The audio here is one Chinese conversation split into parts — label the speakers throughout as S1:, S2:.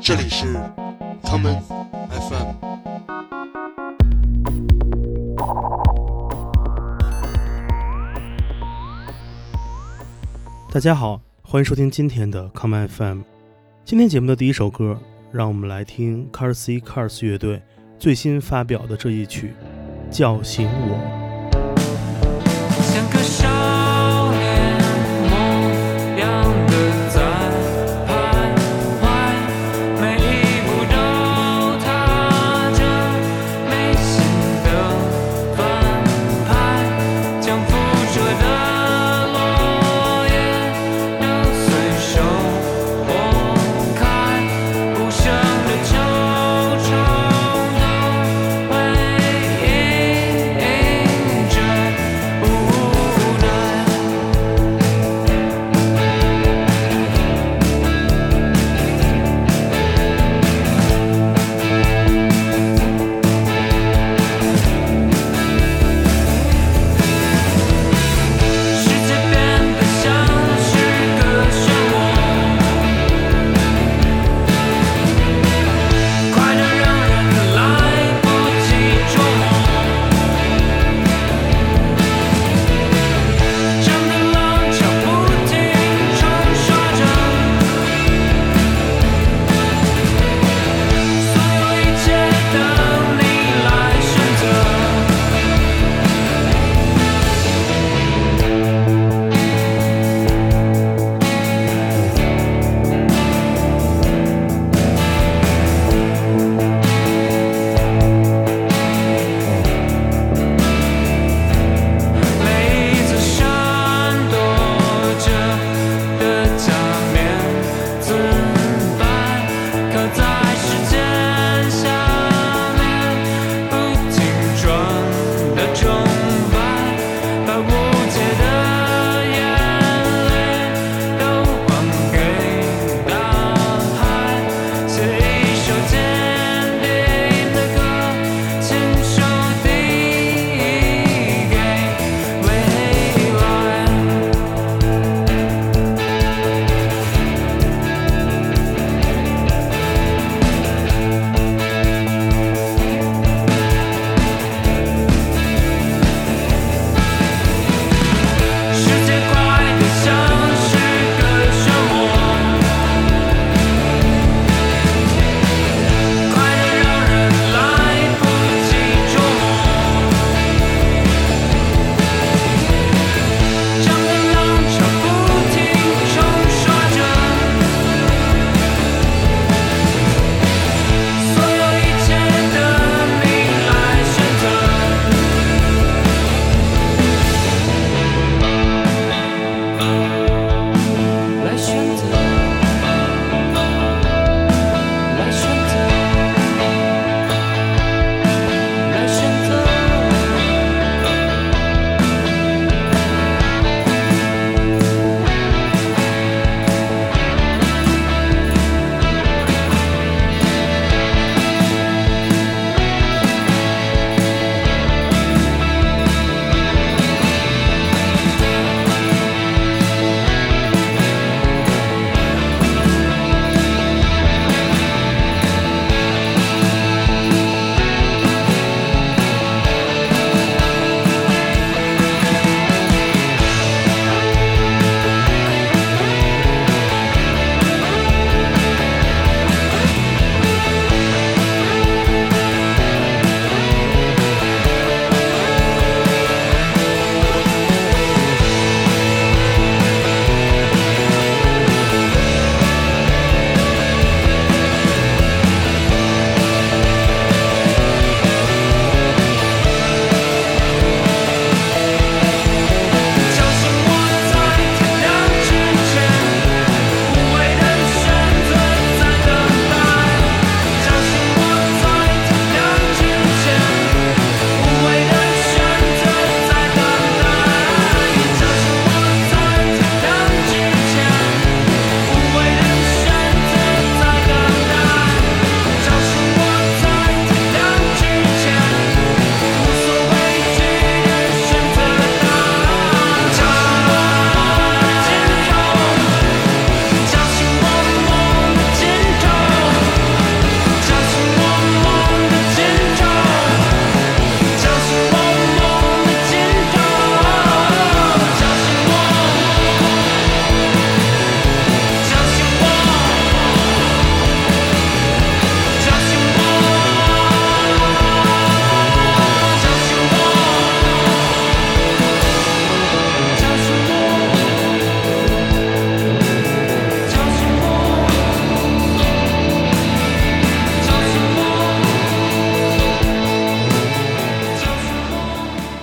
S1: 这里是 Common FM。
S2: 大家好，欢迎收听今天的 Common FM。今天节目的第一首歌，让我们来听 Carsey Cars 乐队最新发表的这一曲《叫醒我》。
S3: 像个少年模样的在徘徊，每一步都踏着没心的反派，将辐射的落叶揉碎手拨开，无声的惆怅的回应着。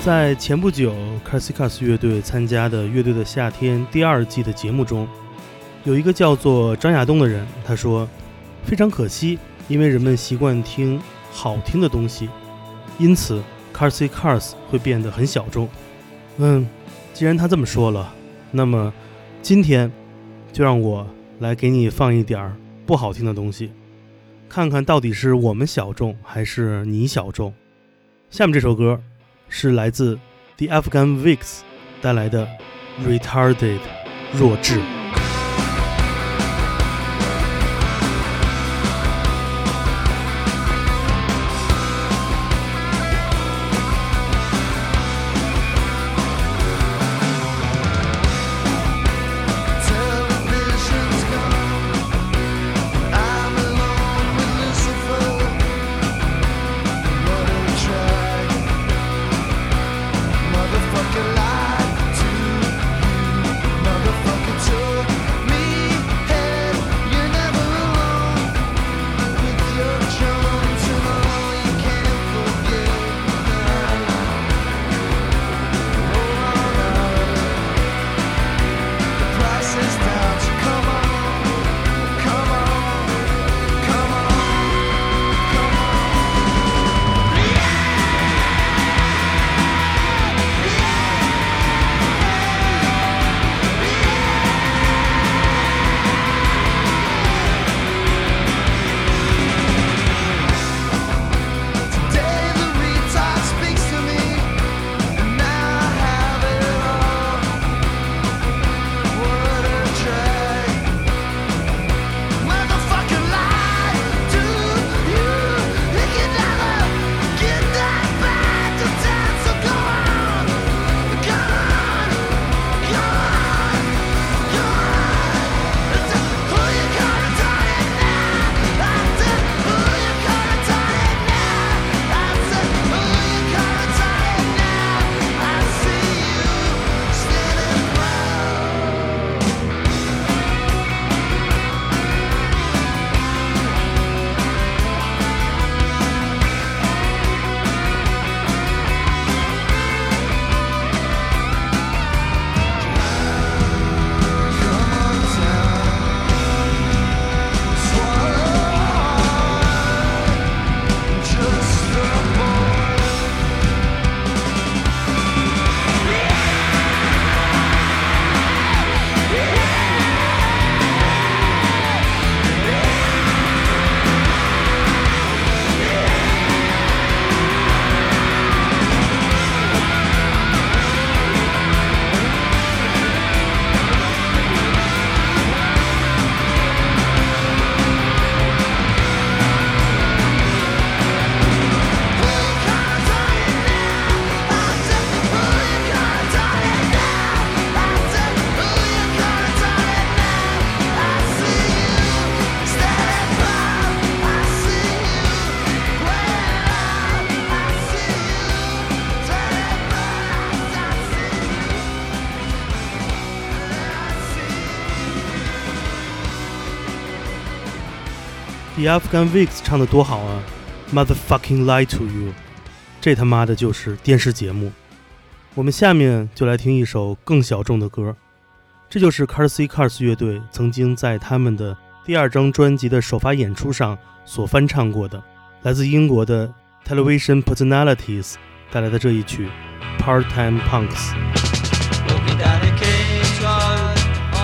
S2: 在前不久 Carsey Cars 乐队参加的乐队的夏天第2季的节目中，有一个叫做张亚东的人，他说非常可惜，因为人们习惯听好听的东西，因此 Carsey Cars 会变得很小众。既然他这么说了，那么今天就让我来给你放一点不好听的东西，看看到底是我们小众还是你小众。下面这首歌是来自 The Afghan Wigs 带来的 Retarded 弱智。The Afghan Wigs 唱得多好啊 Motherfucking lie to you， 这他妈的就是电视节目。我们下面就来听一首更小众的歌，这就是 Carsey Cars 乐队曾经在他们的第2张专辑的首发演出上所翻唱过的，来自英国的 Television Personalities 带来的这一曲 Part-Time Punks。Walking down the King's Road,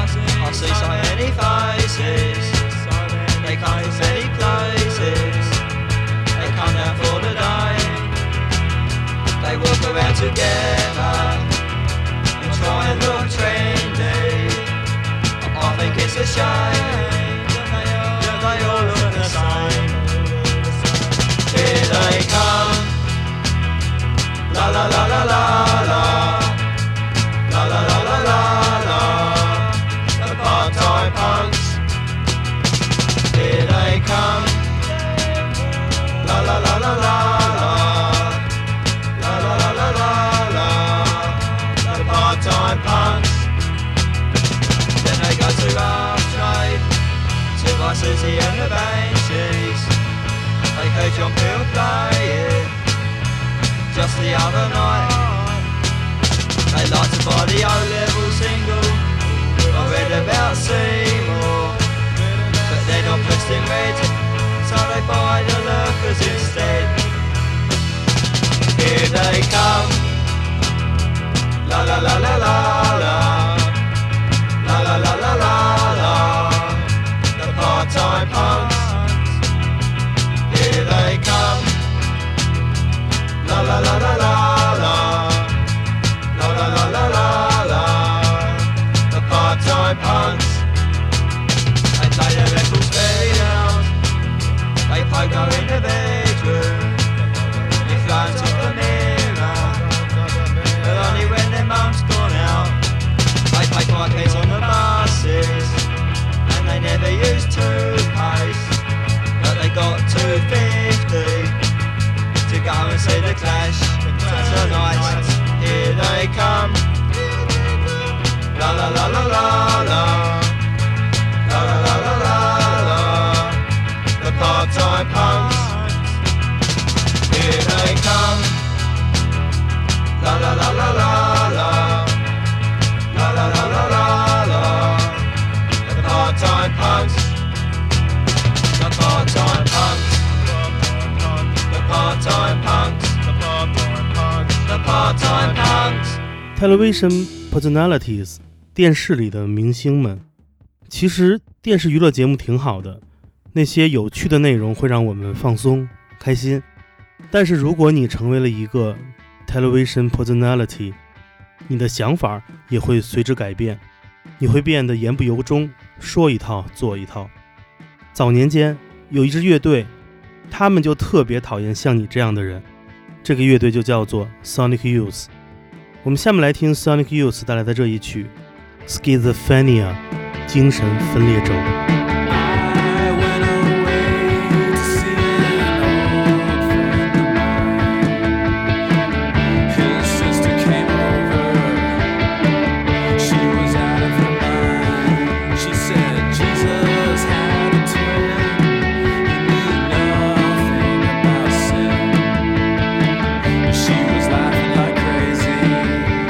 S2: I see so many faces. They come from many places. They come down for the day. They walk around together and try and look trendy. I think it's a shame that they all look the same. Here they come. La la la la la la. La la la la la la. The part-time punks. Here they come. La la la la la la. La la la la la la. The part-time punks. Then they go to Rough Trade, to buy Susie and the Banshees. They heard John Peel playing just the other night.
S4: They like to buy the O-level single I read about Seymour, but they're not pressed in red, so they buy the lurkers instead. Here they come, la la la la la la, la la la la la la, the part-time punks. Here they come, la la la la la la, la la la la la la, the part-time punks. They play their records very loud, they pogo in the bedroom, they fly to the mirror, but only when their mum's gone out. They pay 5p on the buses, and they never use toothpaste, but they got 250 to go and see the Clash tonight. Here they come, la la la la la la, la la la la la la, the part-time punks. Here they come, la la la la la la, la la la la la la, the part-time punks, the part-time punks, the part-time punks, the part-time punks.
S2: Television personalities， 电视里的明星们。其实电视娱乐节目挺好的，那些有趣的内容会让我们放松开心。但是如果你成为了一个 television personality， 你的想法也会随之改变，你会变得言不由衷，说一套做一套。早年间有一支乐队，他们就特别讨厌像你这样的人，这个乐队就叫做 Sonic Youth。 我们下面来听 Sonic Youth 带来的这一曲 Schizophrenia， 精神分裂症。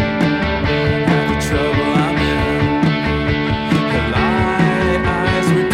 S3: Trouble I'm in, her light eyes were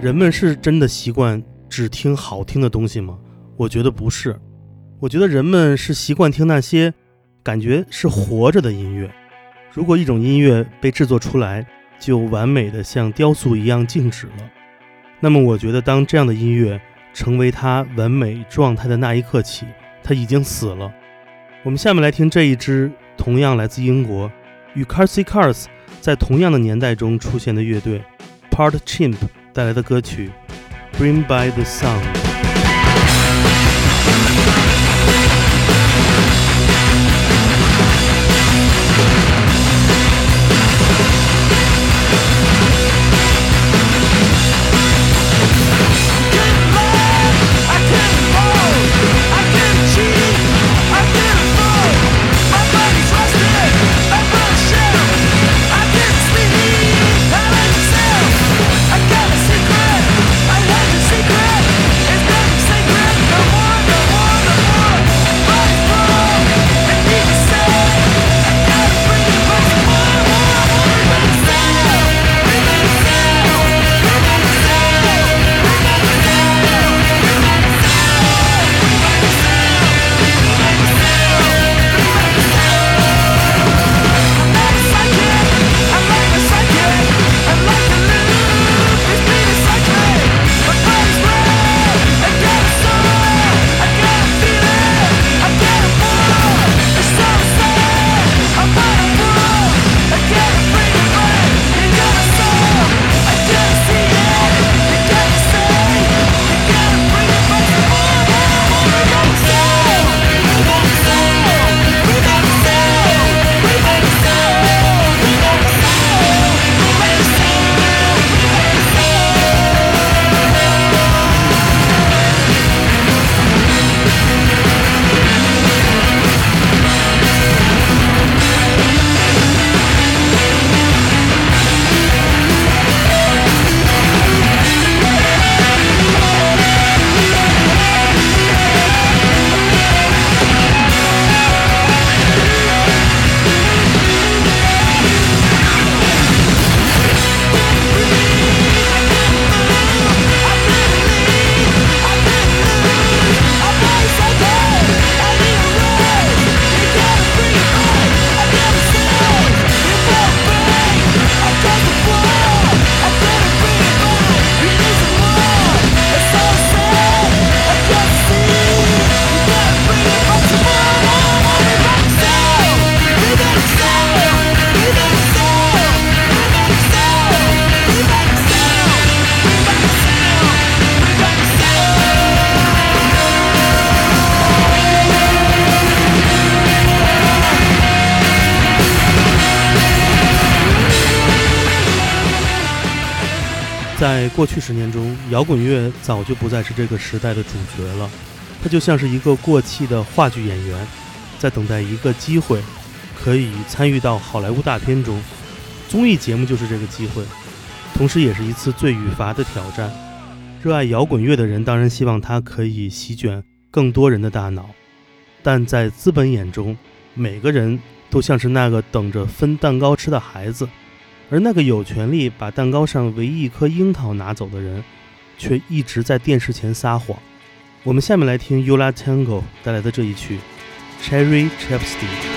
S2: 人们是真的习惯只听好听的东西吗？我觉得不是。我觉得人们是习惯听那些感觉是活着的音乐。如果一种音乐被制作出来就完美的像雕塑一样静止了，那么我觉得当这样的音乐成为它完美状态的那一刻起，它已经死了。我们下面来听这一支同样来自英国与 Carsey Cars 在同样的年代中出现的乐队 Part Chimp 带来的歌曲 Bring by the Sun。在过去10年中，摇滚乐早就不再是这个时代的主角了，它就像是一个过气的话剧演员，在等待一个机会，可以参与到好莱坞大片中。综艺节目就是这个机会，同时也是一次罪与罚的挑战。热爱摇滚乐的人当然希望它可以席卷更多人的大脑，但在资本眼中，每个人都像是那个等着分蛋糕吃的孩子，而那个有权利把蛋糕上唯一一颗樱桃拿走的人，却一直在电视前撒谎。我们下面来听 Yo La Tengo 带来的这一曲 Cherry Chapstick。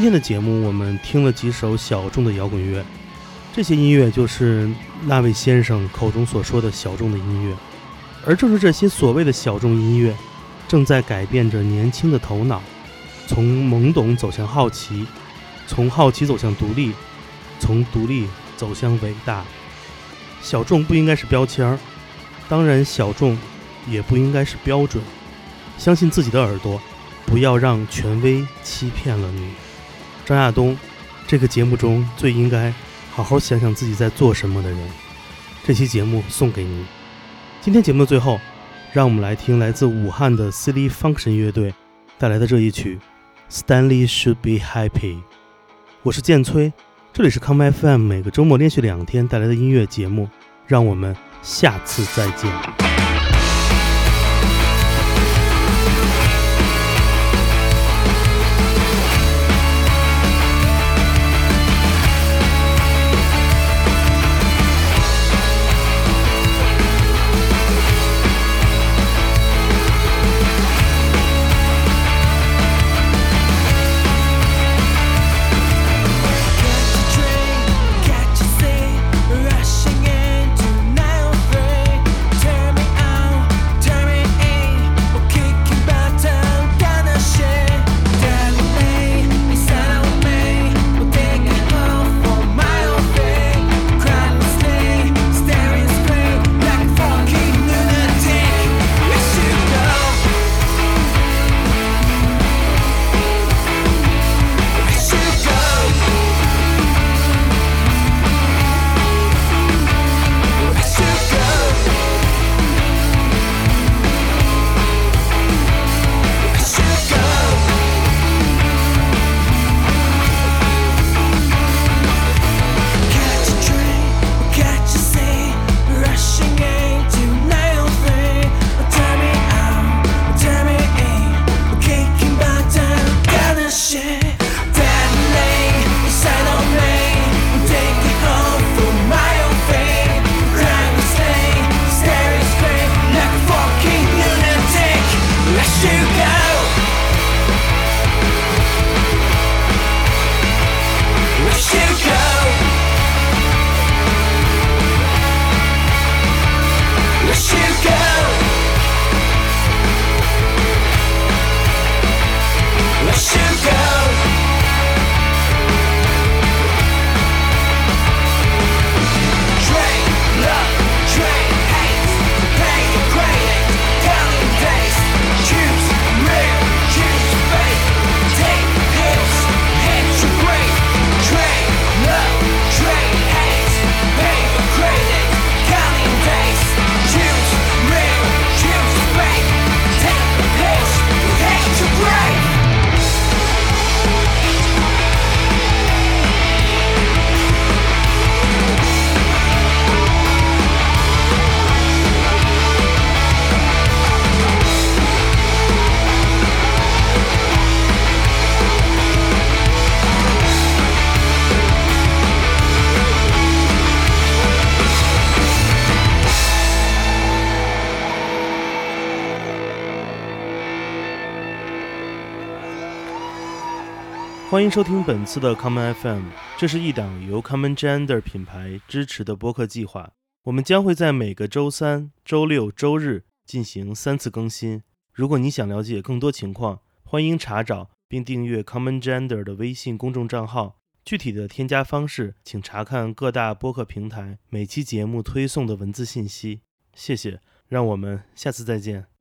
S2: 天的节目我们听了几首小众的摇滚乐，这些音乐就是那位先生口中所说的小众的音乐，而正是这些所谓的小众音乐正在改变着年轻的头脑，从懵懂走向好奇，从好奇走向独立，从独立走向伟大。小众不应该是标签儿，当然小众也不应该是标准。相信自己的耳朵，不要让权威欺骗了你。张亚东，这个节目中最应该好好想想自己在做什么的人，这期节目送给你。今天节目的最后，让我们来听来自武汉的 Silly Function 乐队带来的这一曲 Stanley Should Be Happy。 我是建崔，这里是康麦 FM 每个周末连续2天带来的音乐节目，让我们下次再见。欢迎收听本次的 Common FM， 这是一档由 Common Gender 品牌支持的播客计划。我们将会在每个周三、周六、周日进行3次更新。如果你想了解更多情况，欢迎查找并订阅 Common Gender 的微信公众账号。具体的添加方式，请查看各大播客平台每期节目推送的文字信息。谢谢，让我们下次再见。